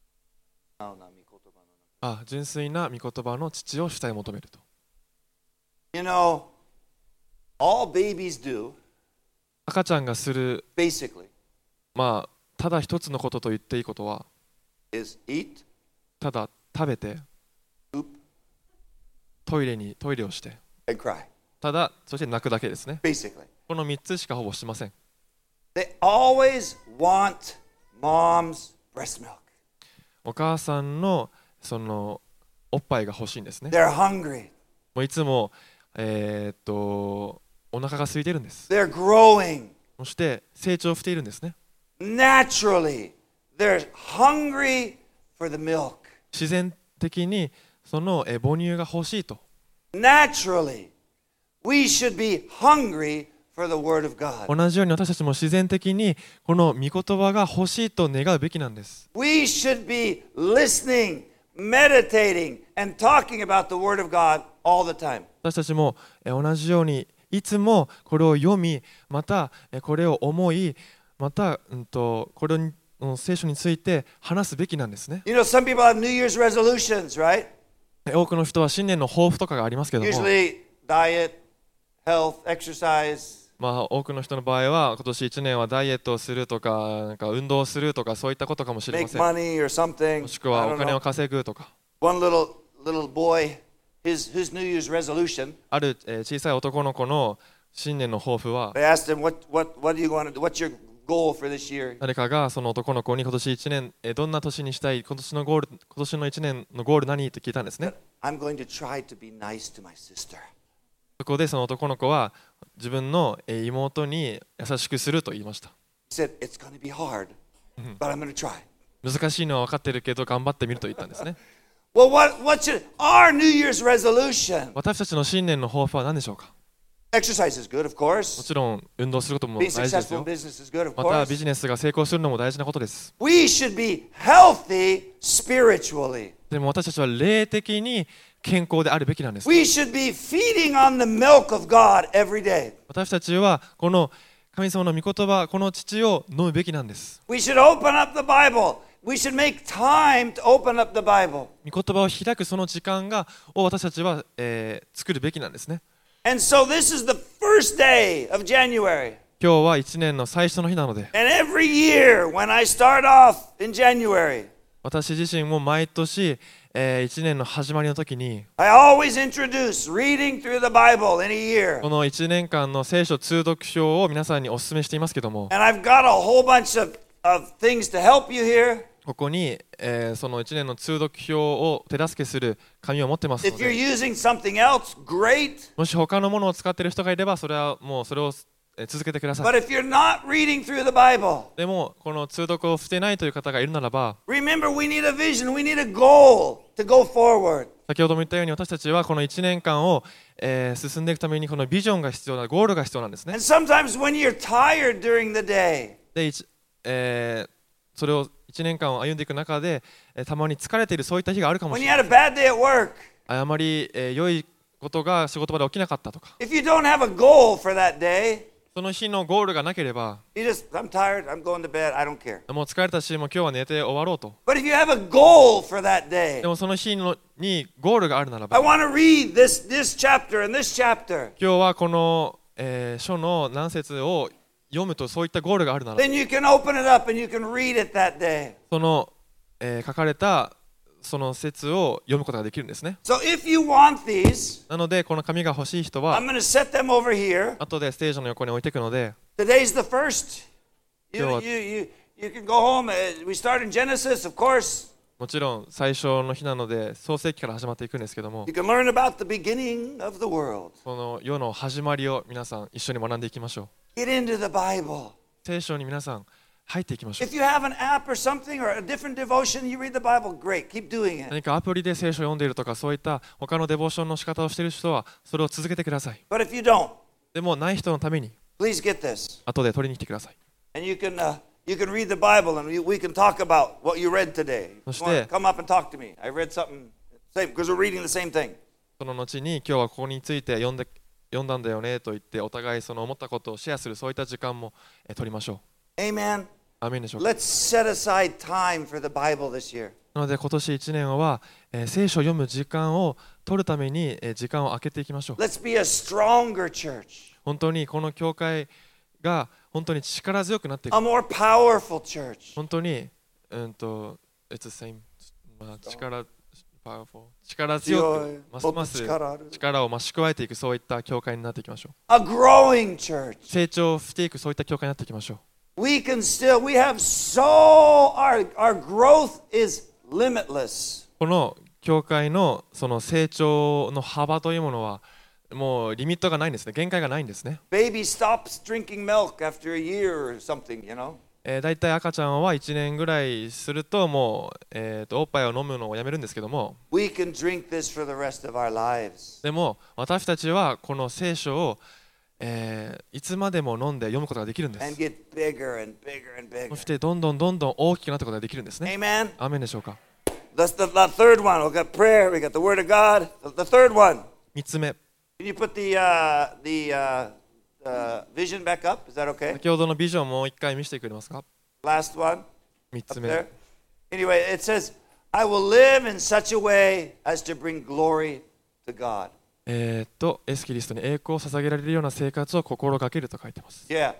あ、純粋な御言葉の父を主体求めると。 You know, all babies do, 赤ちゃんがする、 basically, まあ、ただ一つのことと言っていいことは、 is eat, ただ食べて、 poop, トイレにトイレをして、 and cry. ただそして泣くだけですね。 Basically. このみっつしかほぼしません。 They always want mom's breast milk. お母さんのそのおっぱいが欲しいんですね。 They're hungry. もういつも、えーっとお腹が空いてるんです。 They're growing. そして成長しているんですね。 Naturally, they're hungry for the milk. 自然的にそのえ母乳が欲しいと。 Naturally, we should be hungry for the word of God. 同じように私たちも自然的にこの御言葉が欲しいと願うべきなんです。 We should be listening, meditating, and talking about the word of God all the time. 私たちもえ同じようにいつもこれを読み、またえこれを思い、また、うん、とこれの聖書について話すべきなんですね。 You know, some people have New Year's resolutions, right? 多くの人は新年の抱負とかがありますけども、 Usually diet, health, exercise. まあ、多くの人の場合は今年いちねんはダイエットをするとか、なんか運動をするとかそういったことかもしれま Make せん。 money or something. もしくは I お don't 金を know. 稼ぐとか。 One little little boy, his his New Year's resolution. ある、えー小さい男の子の新年の抱負は、 They asked him, "What what what do you want to do? What's your goal for this year?" 誰かがその男の子に今年いちねん、えーどんな年にしたい、今年のゴール、今年のいちねんのゴール何って聞いたんですね。 I'm going to try to be nice to my sister. そこでその男の子は自分のえー妹に優しくすると言いました。 He said, "It's going to be hard, but I'm going to try. 難しいのは分かってるけど頑張ってみると言ったんですね。 Well, what, what should our New Year's resolution? 私たちの新年の抱負は何でしょうか。 Exercise is good, of も course. ちろん運動することも大 Being 事です successful よ。 in business is good, of またビ course. ジネスが成功するのも大事なことです。 We should be healthy spiritually. でも私たちは霊的に健康であるべきなんです。 We should be feeding on the milk of God every day. 私たちはこの神様の御言葉、この乳を飲むべきなんです。 We should open up the Bible. We should make time to open up the Bible. 御言葉を開くその時間がを私たちは、えー、作るべきなんですね。 And so this is the first day of January. 今日はいちねんの最初の日なので、 And every year when I start off in January, 私自身も毎年、えー、いちねんの始まりの時に I always introduce reading through the Bible in a year. このいちねんかんの聖書通読書を皆さんにお勧めしていますけども、 And I've got a whole bunch of, of things to help you here. ここに、えー、そのいちねんの通読表を手助けする紙を持ってますの If you're で、 using something else, great. もし他のものを使っている人がいればそれはもうそれをえー続けてくださ But い。 if you're not reading through the Bible, でもこの通読をしてないという方がいるならば、 remember we need a vision. We need a goal to go forward. 先ほども言ったように私たちはこのいちねんかんを、えー進んでいくためにこのビジョンが必要だ、ゴールが必要なんですね。 And sometimes when you're tired during the day, で、いちえーそれをいちねんかんを歩んでいく中で、えーたまに疲れているそういった日があるかも when し you れない。 had a bad day at work, あまり、えー良いことが仕事場で起きなかったとか、 if you don't have a goal for that day, その日のゴールがなければ、 you just, I'm tired, I'm going to bed, I don't care. もう疲れたし、もう今日は寝て終わろうと。 But if you have a goal for that day, でもその日のにゴールがあるならば、 I want to read this, this chapter and this chapter, 今日はこの、えー書の何節を読むとそういったゴールがあるなら、 then you can open it up and you can read it that day. その、えー書かれたその節を読むことができるんですね。 So if you want these, なのでこの紙が欲しい人 I'm は going to set them over here. 後でステージの横に置いていくので、 Today's the first. You, 今日は you, you, you can go home. Uh, We start in Genesis, of course. もちろん最初の日なので創世記から始まっていくんですけども、 You can learn about the beginning of the world. この世の始まりを皆さん一緒に学んでいきましょう。 Get into the Bible. 聖書に皆さん入っていきましょう。 If you have an app or something or a different devotion, you read the Bible, great. Keep doing it. 何かアプリで聖書を読んでいるとかそういった他のデボーションの仕方をしている人はそれを続けてください。 But if you don't, でもない人のために please get this. 後で取りに来てください。 And you can, uh, you can read the Bible and we, we can talk about what you read today. You そして wanna come up and talk to me. I read something, same, because we're reading the same thing. その後に今日はここについて読んで読んだんだよねと言ってお互いその思ったことをシェアするそういった時間もえ取りましょう。 Amen. アーメンでしょうか。 Let's set aside time for the Bible this year. なので今年いちねんは、えー聖書を読む時間を取るために、えー時間を空けていきましょう。 Let's be a stronger church, 本当にこの教会が本当に力強くなっていく。 a more powerful church. 本当に、うんと、It's the same、まあ、力、powerful、力強強いく、ますますもっと力ある力を増し加えていくそういった教会になっていきましょう。 A growing church. 成長していくそういった教会になっていきましょう。 We can still, we have so, our, our growth is limitless. この教会のその成長の幅というものはもうリミットがないんですね。限界がないんですね。 Baby stops drinking milk after a year or something, you know. えー、だいたい赤ちゃんはいちねんぐらいするともう、えー、とおっぱいを飲むのをやめるんですけども、 We can drink this for the rest of our lives. でも私たちはこの聖書を、えーいつまでも飲んで読むことができるんで And す。 get bigger and bigger and そ bigger. してどんどんどんどん大きくなっていくことができるんですね。 Amen. アーメンでしょうか。 That's the, the third one. We've got prayer. We got the Word of God. The, the third one. みっつめ、 Can you put the uh, the uh, uh, vision back up? Is that okay? 先ほどのビジョンをもう一回見せてくれますか。 Last one みっ up つめ、 there. Anyway, it says, "I will live in such a way as to bring glory to God." えー、っとエスキリストに栄光を捧げられるような生活を心がけると書いてます。 Yeah.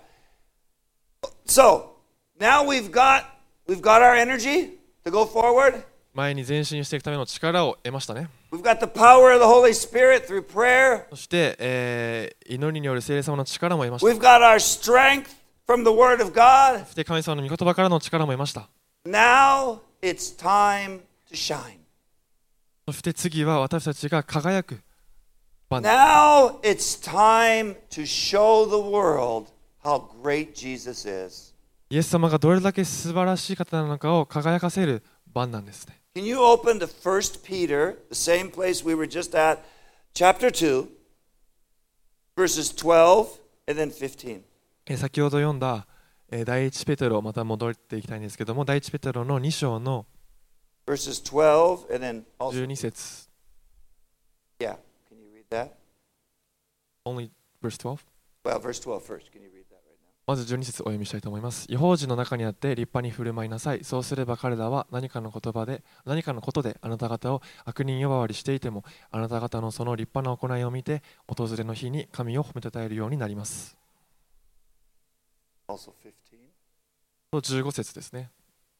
So now we've got we've got our energy to go forward. 前に前進していくための力を得ましたね。 We've got the power of the Holy Spirit through prayer. そして、えー祈りによる聖霊様の力も得ました。 We've got our strength from the Word of God. そして神様の御言葉からの力も得ました。 Now it's time to shine. そして次は私たちが輝く番です。 Now it's time to show the world how great Jesus is. イエス様がどれだけ素晴らしい方なのかを輝かせる番なんですね。 Can you open to First Peter, the same place we were just at, chapter two, verses twelve and then fifteen? 先ほど読んだ第一ペテロ、また戻っていきたいんですけども、第一ペテロのに章の verses twelve and then also じゅうに節。 Yeah, can you read that? Only verse twelve? Well, verse twelve first. Can you read that right now? まずじゅうに節お読みしたいと思います。異邦人の中にあって立派に振る舞いなさい。そうすれば彼らは何かの言葉で、何かのことであなた方を悪人呼ばわりしていても、あなた方のその立派な行いを見て、訪れの日に神を褒めたたえるようになります。 Also fifteen. とじゅうご節ですね。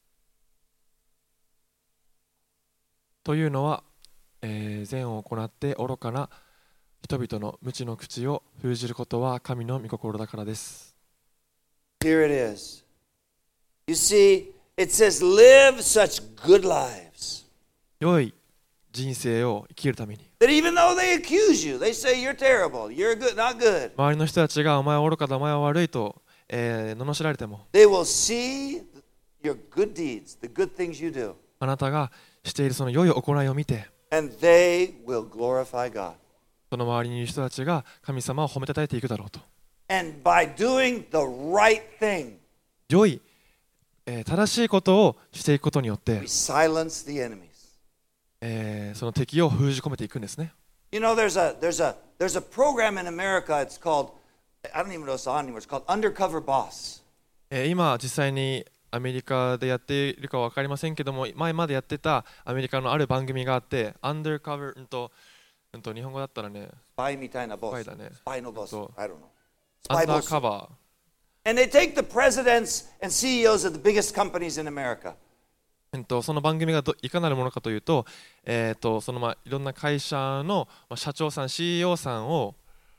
というのは、えー、善を行って愚かな人々の無知の口を封じることは神の御心だからです。 Here it is. You see, it says, live such good lives. 良い人生を生きるために。 That even though they accuse you, they say you're terrible, you're good, not good. 周りの人たちがお前は愚かだ、お前は悪いと、えー、罵られても。 They will see your good deeds, the good things you do. あなたがしているその良い行いを見て、 And they will glorify God. その周りにいる人たちが神様を褒めたたえていくだろうと。 And by doing the right thing, 良い、えー、正しいことをしていくことによって、 we silence the enemies. えー、その敵を封じ込めていくんですね。 You know, there's a there's a there's a program in America. It's called, I don't even know if it's on anymore. It's called Undercover Boss. えー、今実際にアメリカでやっているかは分かりませんけども、前までやってたアメリカのある番組があって、アンダーカバー、うんと、うんと日本語だったらね、 スパイみたいなボス。 スパイだね。 スパイのボス。 そう I don't know. アンダーカバー。 And they take the presidents and C E Os of the biggest companies in America. うんとその番組がどいかなるものかというと、えー、とそのまあいろんな会社の社長さん、シーイーオー さんを、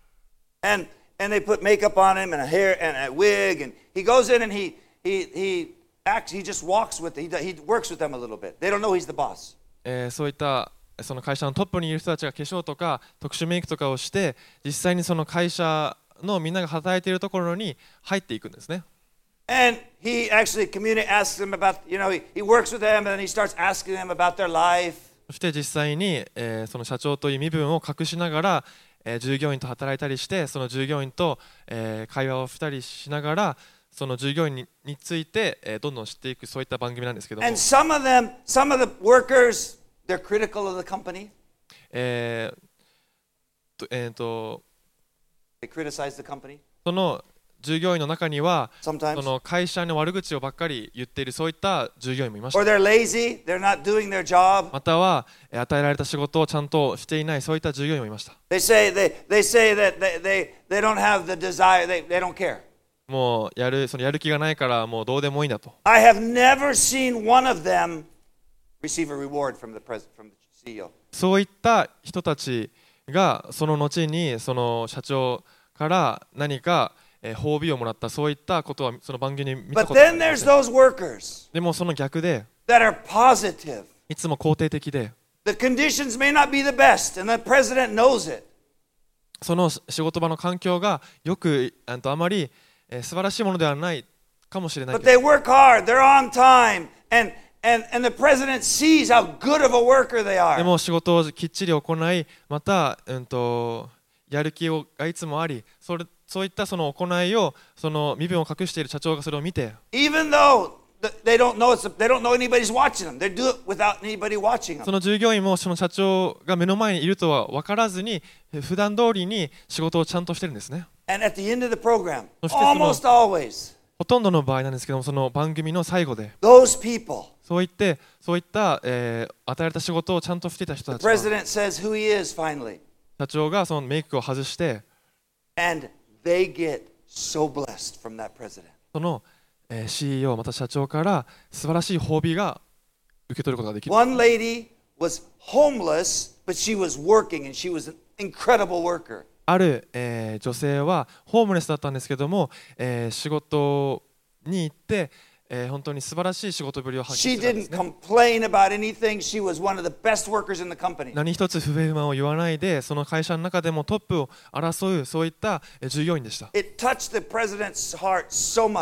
And and they put makeup on him and a hair and a wig, and he goes in and he he he acts. He just walks with it. He he works with them a little bit. They don't know he's the boss. えー、そういったその会社のトップにいる人たちが化粧とか特殊メイクとかをして、実際にその会社のみんなが働いているところに入っていくんですね。 And he actually communicates, asks them about, you know, he, he works with them and then he starts asking them about their life. そして実際に、えー、その社長という身分を隠しながら、えー、従業員と働いたりして、その従業員と、えー、会話をしたりしながら、その従業員に、について、えー、どんどん知っていく、そういった番組なんですけども。 And some of them, some of the workers, they're critical of the company. えーとえーと They criticize the company. その従業員の中には、 Sometimes. その会社の悪口をばっかり言っているそういった従業員もいまし Or た。 they're lazy, they're not doing their job. またはえー与えられた仕事をちゃんとしていないそういった従業員もいました。 They say they, they say that they, they, they don't have the desire, they, they don't care. もうやるそのやる気がないからもうどうでもいいんだと。 I have never seen one of them receive a reward from the president, from the C E O. そういった人たちがその後にその社長から何かえー褒美をもらった、そういったことはその番組に見た But ことがあ then りま there's せん。 those workers でもその逆で that are positive. いつも肯定的で、 The conditions may not be the best, and the president knows it. その仕事場の環境がよくあとあまり、えー素晴らしいものではないかもしれない But けど、 they work hard, they're on time, and, and, and the president sees how good of a worker they で are. も仕事をきっちり行い、また、うんとやる気をがいつもあり、それそういったその行いをその身分を隠している社長がそれを見て、 Even though th- they don't know it's, they don't know anybody's watching them, they do it without anybody watching そ them. の従業員もその社長が目の前にいるとは分からずに、普段通りに仕事をちゃんとしてるんですね。 And at the end of the program, そしてその almost always, ほとんどの場合なんですけども、その番組の最後で those people, そういってそういった、えー与えられた仕事をちゃんとしていた人 the たちは、 president says who he is finally, 社長がそのメイクを外して、 and they get so blessed from that president. その、えー シーイーオー また社長から素晴らしい褒美が受け取ることができる。 One lady was homeless, but she was working, and she was an incredible worker. ある、えー女性はホームレスだったんですけども、えー仕事に行って、えー本当に素晴らしい仕事ぶりを発 She 揮したんで didn't すね。 complain about anything. She was one of the best workers in the company. 何一つ不平不満を言わないで、その会社の中でもトップを争うそういったえー従業員でした。 It touched the president's heart so much.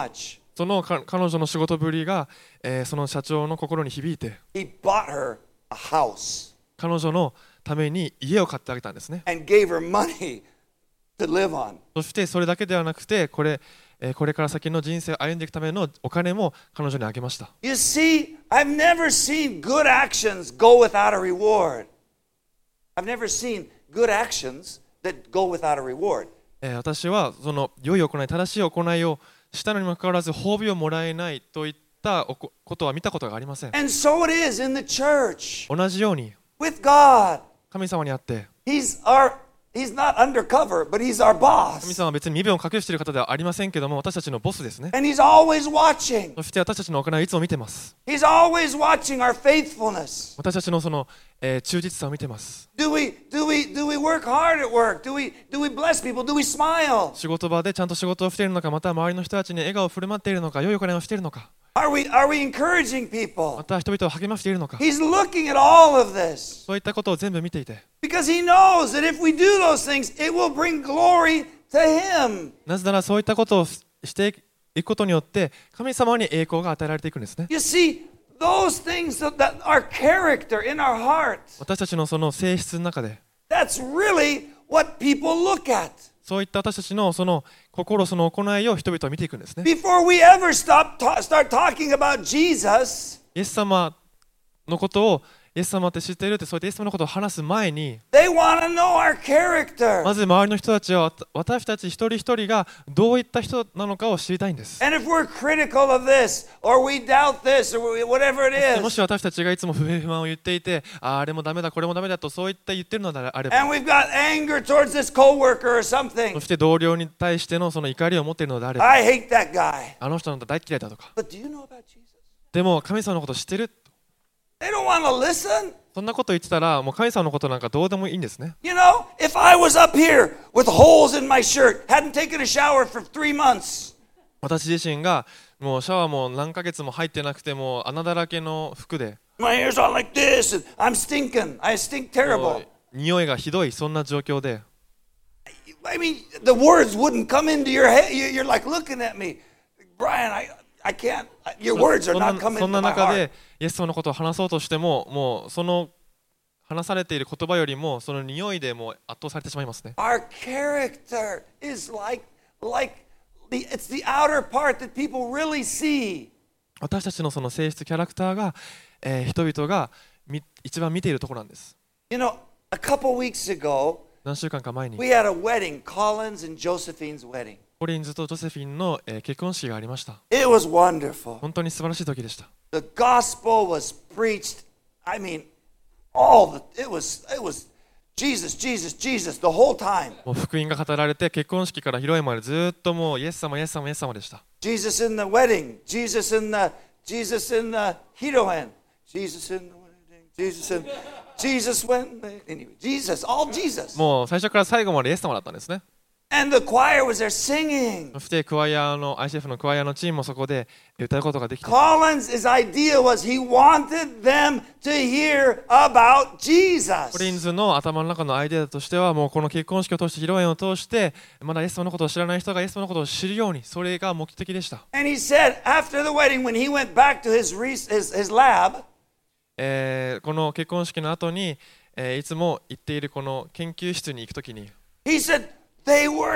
そのか彼女の仕事ぶりが、えーその社長の心に響いて、 He bought her a house 彼女のために家を買ってあげたんですね。 and gave her money to live on. そしてそれだけではなくて、これ、えーこれから先の人生を歩んでいくためのお金も彼女にあげました。 You see, I've never seen good actions go without a reward. I've never seen good actions that go without a reward. えー私はその良い行い、正しい行いをしたのにもかかわらず褒美をもらえないといったおこことは見たことがありません。 And so it is in the church 同じように with God. 神様にあって、 He's our He's not undercover, but he's our 神 boss. 様は別に身分を隠している方ではありませんけども、私たちのボスですね。 And he's always watching. そして私たちの行いをいつも見てます。 He's always watching our faithfulness. 私たちのその、えー忠実さを見てます。 Do we do we do we work hard at work? Do we do we bless people? Do we smile? 仕事場でちゃんと仕事をしているのか、また周りの人たちに笑顔を振る舞っているのか、良い行いをしているのか、 Are we are we encouraging ま people? た人々を励ましているのか、 He's looking at all of this そういったことを全部見ていて、 because he knows that if we do those things, it will bring glory to him. なぜならそういったことをしていくことによって神様に栄光が与えられていくんですね。 You see, those things that, that our character in our hearts, 私たちのその性質の中で、 that's really what people look at. そういった私たちのその心、その行いを人々は見ていくんですね。 Before we ever stop ta- start talking about Jesus, イエス様のことを、イエス様って知っているって、そうやってイエス様のことを話す前に、 they want to know our character. まず周りの人たちはわた私たち一人一人がどういった人なのかを知りたいんです。 And if we're critical of this, or we doubt this, or we- whatever it も is, し私たちがいつも不平不満を言っていて、ああれもダメだ、これもダメだとそういった言ってるのであれば、 and we've got anger towards this coworker or something, そして同僚に対してのその怒りを持っているのであれば、 I hate that guy. あの人のこと大嫌いだとか、 But do you know about Jesus? でも神様のこと知ってる、 They don't want to listen. そんなこと言ってたらもう神様のことなんかどうでもいいんですね。 You know, if I was up here with holes in my shirt, hadn't taken a shower for three months, 私自身がもうシャワーも何ヶ月も入ってなくても穴だらけの服で、 my hair's all like this, and I'm stinking. I stink も terrible. う匂いがひどい、そんな状況で、 I mean, the words wouldn't come into your head. You- You're like looking at me, Brian. I, I can't. Your words are そんな not coming そ into んな my 中 heart. でイエス様のことを話そうとしても、もうその話されている言葉よりもその匂いでもう圧倒されてしまいますね。 Our character is like, like the. It's the outer part that people really see. 私たちのその性質、キャラクターが、えー人々がみ一番見ているところなんです。 You know, a couple weeks ago, 何週間か前に we had a wedding, Collins and Josephine's wedding. コリンズとジョセフィンの、えー結婚式がありました。 It was wonderful. 本当に素晴らしい時でした。 The gospel was preached. I mean, all the it was it was Jesus, Jesus, Jesus the whole time. もう福音が語られて、結婚式から披露宴までずっともうイエス様、イエス様、イエス様でした。 Jesus in the wedding, Jesus in the Jesus in the hiroen, Jesus in the wedding, Jesus in Jesus when anyway, Jesus, all Jesus. もう最初から最後までイエス様だったんですね。 And the choir was there singing. そしてクワイアの アイシーエフ のクワイアのチームもそこで歌うことができて、 Collins' idea was he wanted them to hear about コ Jesus. リンズの頭の中のアイデアとしては、もうこの結婚式を通して披露宴を通してまだイエス様のことを知らない人がイエス様のことを知るように、それが目的でした。 And he said after the wedding, when he went back to his re- his, his lab, えーこの結婚式の後に、えーいつも行っているこの研究室に行くときに、 he said they were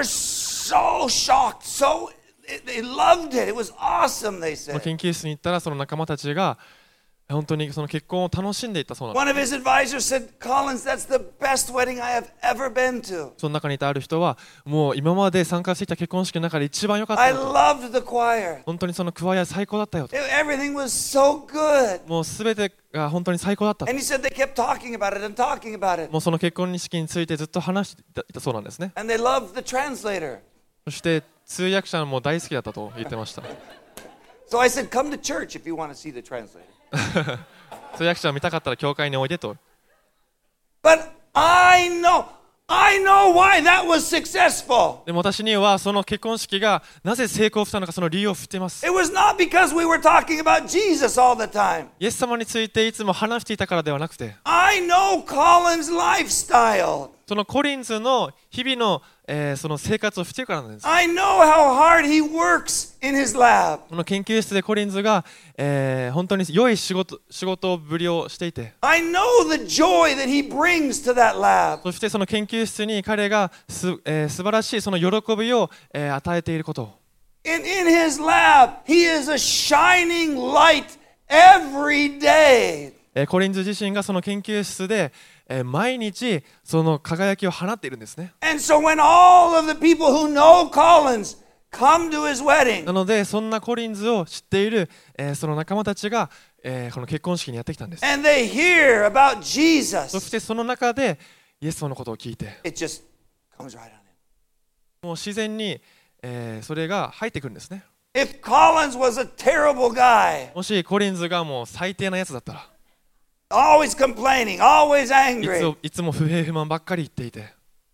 so shocked, so they loved it. It was awesome, they その said. 研究室に行ったらその仲間たちが本当にその結婚を楽しんでいったそうなんです。 One of his advisors said, Collins, that's the best wedding I have ever been to. その中にいたある人は、もう今まで参加してきた結婚式の中で一番良かった I よと、 loved the choir. 本当にそのクワイア最高だったよと、 It- everything was so good. もうすべてが本当に最高だったと、 And he said they kept talking about it and talking about it. もうその結婚式についてずっと話していたそうなんですね。 And they loved the translator. そして通訳者も大好きだったと言ってました。 So I said, come to church if you want to see the translator. 通訳者を見たかったら教会においでと。 But I know, I know why that was successful. でも私にはその結婚式がなぜ成功したのか、その理由を知っています。 It was not because we were talking about Jesus all the time. イエス様についていつも話していたからではなくて、 I know Colin's lifestyle. そのコリンズの日々の、えーその生活をしているからなんです。 I know how hard he works in his lab. この研究室でコリンズが、えー本当に良い仕事、仕事ぶりをしていて、 I know the joy that he brings to that lab. そしてその研究室に彼がす、えー素晴らしいその喜びを、えー与えていることを、 In, in his lab, he is a shining light every day. えーコリンズ自身がその研究室で、えー毎日その輝きを放っているんですね。 And so when all of the people who know Collins come to his な wedding, のでそんなコリンズを知っている、えーその仲間たちが、えーこの結婚式にやってきたんです。 and they hear about そ Jesus, してその中でイエス様のことを聞いて、 it just comes right on in. もう自然に、えーそれが入ってくるんですね。 If Collins was a terrible guy, もしコリンズがもう最低なやつだったら、 always complaining, always いつ angry, もいつも不平不満ばっかり言っていて、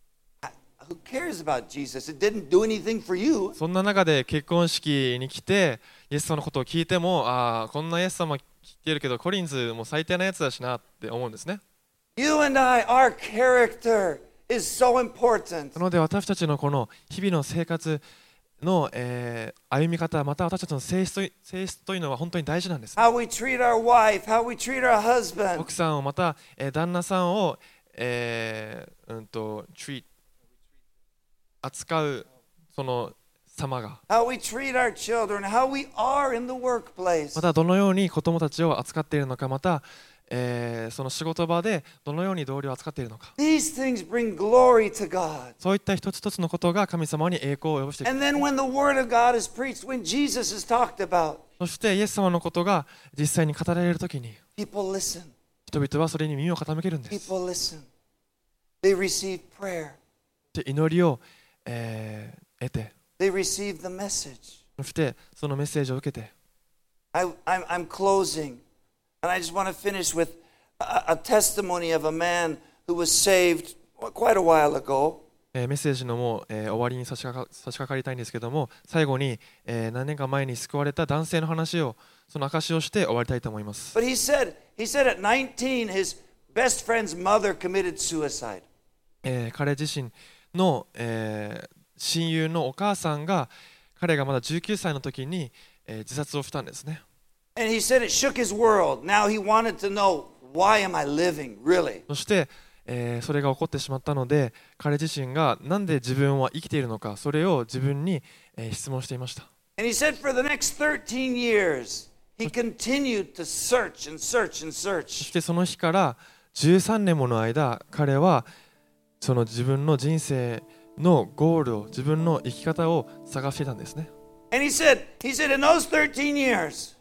who cares about Jesus? It didn't do anything for you. そんな中で結婚式に来てイエス様のことを聞いても、ああこんなイエス様聞いてるけどコリンズも最低なやつだしなって思うんですね。 You and I, our character is so important. なので私たちのこの日々の生活の、えー歩み方、また私たちの性質とい性質というのは本当に大事なんです。 How we treat our wife, how we treat our husband, 奥さんをまた、えー旦那さんを、えーうんと treat 扱うその様が、 how we treat our children, how we are in the workplace. またどのように子供たちを扱っているのか、また、えーその仕事場でどのように同僚を扱っているのか、 These things bring glory to God. そういった一つ一つのことが神様に栄光を及ぼしていく。 And then when the word of God is preached, when Jesus is talked about, そしてイエス様のことが実際に語られるときに people listen. 人々はそれに耳を傾けるんです。 People listen. They receive prayer. で祈りを、えー得て、 They receive the message. そしてそのメッセージを受けて、 I, I'm, I'm closing, and I just want to finish with a, a testimony of a man who was saved quite a while ago. えーメッセージのもう、えー終わりに差し掛か差し掛かりたいんですけども、最後に、えー何年か前に救われた男性の話を、その証しをして終わりたいと思います。 But he said, he said at nineteen, his best friend's mother committed suicide. えー彼自身の、えー親友のお母さんが、彼がまだじゅうきゅうさいの時に、えー自殺をしたんですね。 And he said it shook his world. Now he wanted to know, why am I living, really? そして、えーそれが起こってしまったので、彼自身がなんで自分は生きているのか、それを自分に、えー質問していました。 And he said for the next thirteen years, he continued to search and search and そ search. してその日からじゅうさんねんもの間、彼はその自分の人生のゴールを、自分の生き方を探していたんですね。 And he said, he said in those thirteen years,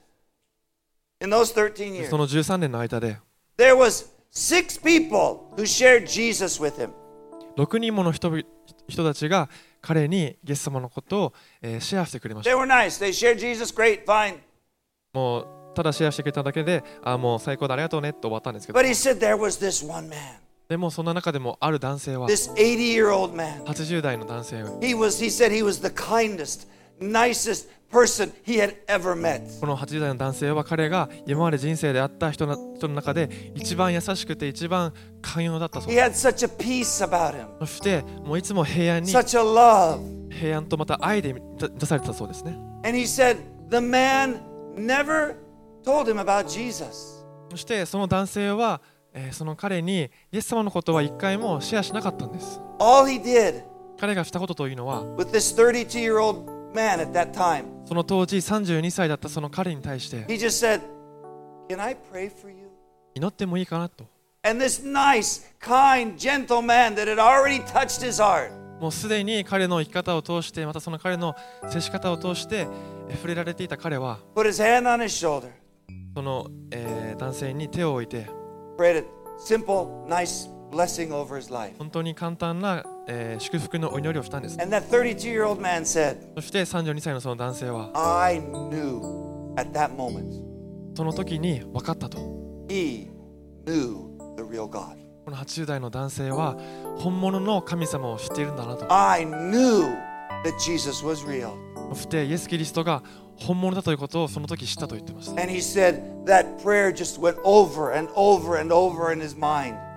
in those thirteen で years, そのじゅうさんねんの間で there was six people who shared Jesus with him. ろくにんもの人々人たちが彼にイエス様のことを、えーシェアしてくれまし They た。 were nice. They shared Jesus. Great, fine. もうただシェアしてくれただけで、あもう最高だありがとうねって終わったんですけど、 But he said there was this one man, でもそんな中でもある男性は this eighty-year-old man. はちじゅう代の男性、 He was, he said he was the kindest, nicest person he had ever met. このはちじゅう代の男性は彼が今まで人生で会った人の人の中で一番優しくて一番寛容だったそう He で had such a peace about him, す。そしてもういつも平安に、 such a love. 平安とまた愛で出されてたそうですね。 And he said the man never told him about Jesus. そしてその男性は、えーその彼にイエス様のことは一回もシェアしなかったんです。 All he did 彼がしたことというのは、 with this thirty-two-year-old man at that time, その当時さんじゅうにさいだったその彼に対して、 he just said, can I pray for you? 祈ってもいいかなと。 And this nice, kind, gentle man that had already touched his heart, もうすでに彼の生き方を通して、またその彼の接し方を通してえー触れられていた彼は、 put his hand on his shoulder, その、えー男性に手を置いて、 prayed a simple, nice blessing over his life. 本当に簡単な、えー祝福のお祈りをしたんです。 And that thirty-two-year-old man said, そしてさんじゅうにさいのその男性は、 I knew at that moment, その時に分かったと。 he knew the real God. このはちじゅう代の男性は本物の神様を知っているんだなと。 I knew that Jesus was real. そしてイエス・キリストが本物だということをその時知ったと言ってました。 And he said that prayer just went over and over and over in his mind.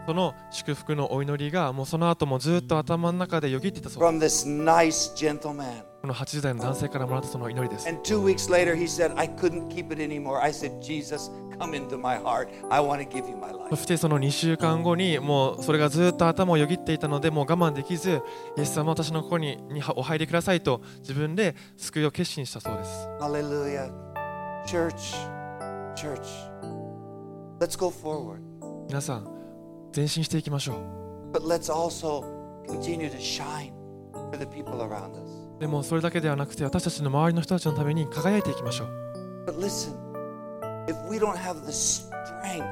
その祝福のお祈りがもうその後もずっと頭の中でよぎっていたそう from this nice gentleman. このはちじゅう代の男性からもらったその祈りです。 And two weeks later, he said, I couldn't keep it anymore. I said, Jesus, come into my heart. I want to give you my そ life. してそのにしゅうかんごにもうそれがずっと頭をよぎっていたのでもう我慢できず、イエス様私のここににお入りくださいと自分で救いを決心したそうです。 Hallelujah. Church, church, let's go forward. 皆さん前進していきましょう。 But let's also continue to shine for the people around us. でもそれだけではなくて私たちの周りの人たちのために輝いていきましょう。 But listen, if we don't have the strength,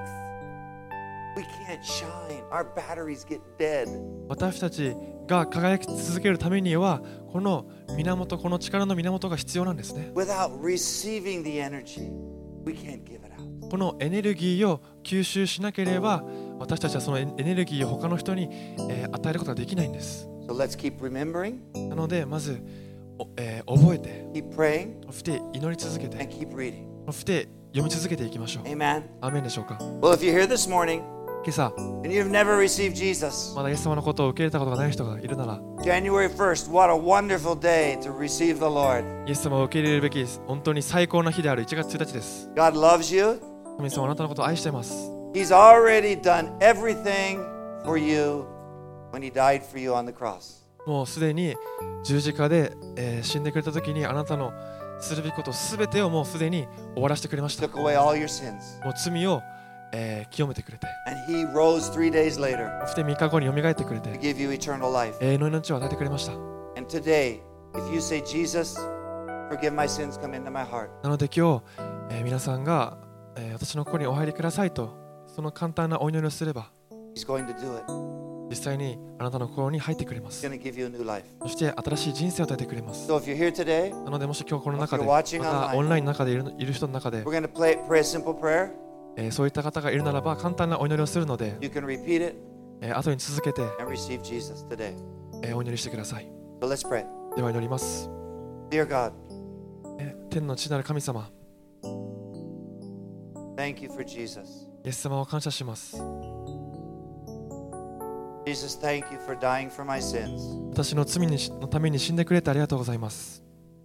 we can't shine. Our batteries get dead. 私たちが輝き続けるためにはこの源、この力の源が必要なんですね。 Without receiving the energy, we can't give it out. このエネルギーを吸収しなければ私たちはそのエネルギーを他の人に、えー与えることができないんです。 So let's keep remembering, なのでまず、おえー覚えて keep praying, そして祈り続けて and keep reading. そして読み続けていきましょう。 Amen. アーメンでしょうか。 Well, if you're here this morning 今朝 and you've never received Jesus, まだイエス様のことを受け入れたことがない人がいるなら January first, what a wonderful day to receive the Lord. イエス様を受け入れるべき本当に最高な日であるいちがつついたちです。 God loves you. 神様あなたのことを愛しています。 He's already done everything for you when He died for you on the cross. もうすでに十字架で、えー死んでくれた時にあなたのするべきことすべてをもうすでに終わらせてくれました。 Took away all your sins. もう罪を、えー清めてくれて And He rose three days later そしてみっかごによみがえってくれて to give you eternal life. 永遠の命を与えてくれました。 And today, if you say, Jesus, forgive my sins, come into my heart. なので今日、えー皆さんが、えー私のここにお入りくださいとその簡単なお祈りをすれば He's going to do it. 実際にあなたの心に入ってくれま He's す。 going to give you a new life. そして新しい人生を与えてくれます。 So if you're here today, なのでもし今日この中で If ま you're watching た online オンラインの中でいるいる人の中で we're、going to play, pray a simple prayer. えーそういった方がいるならば簡単なお祈りをするので、 You can repeat it えー後に続けて、 and receive Jesus today. えーお祈りしてください。 So let's pray. では祈ります。 Dear God, えー天の父なる神様、 thank you for Jesus. イエス様を感謝します。 Jesus, thank you for dying for my sins. 私の罪にのために死んでくれてありがとうございます。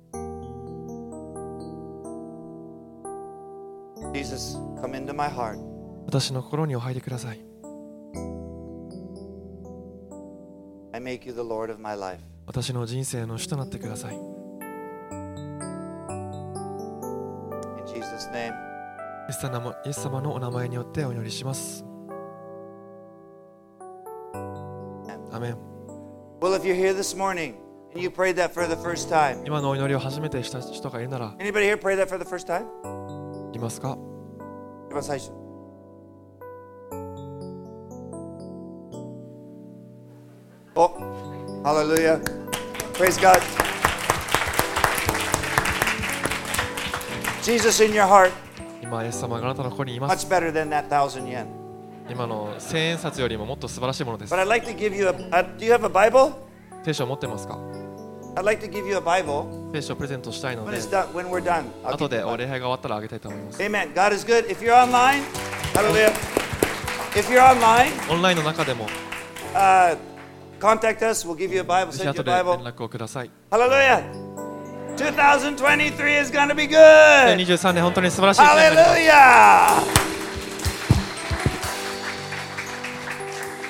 Jesus, come into my heart. 私の心にお入りください。 I make you the Lord of my life. 私の人生の主となってください。 In Jesus' name, イエス様イエス様のお名前によってお祈りします。アメン。 well, if you're here this morning and you prayed that for the first time, 今のお祈りを初めてした人がいるなら anybody here pray that for the first time? いますか？ 一番最初。Oh, hallelujah. Praise God. Jesus in your heart, 今イエス様があなたのここにいます。 much better than that thousand yen. 今の千円札よりももっと素晴らしいものです But。I'd like to give you a, a do you have a Bible? 聖書を持ってますか？ I'd like to give you a Bible 聖書をプレゼントしたいの when で it's done, when we're done. I'll 後 give で you a お Bible. 礼拝が終わったらあげたいと思います。 Amen. God is good. If you're online, hallelujah. If you're online, オンラインの中でも uh, contact us. We'll give you a Bible. ぜひ Send you 後 a で連 Bible. 絡をください。 Hallelujah. twenty twenty-three is going to be good. にじゅうさんねん本当に素晴らしい年になります。 Hallelujah.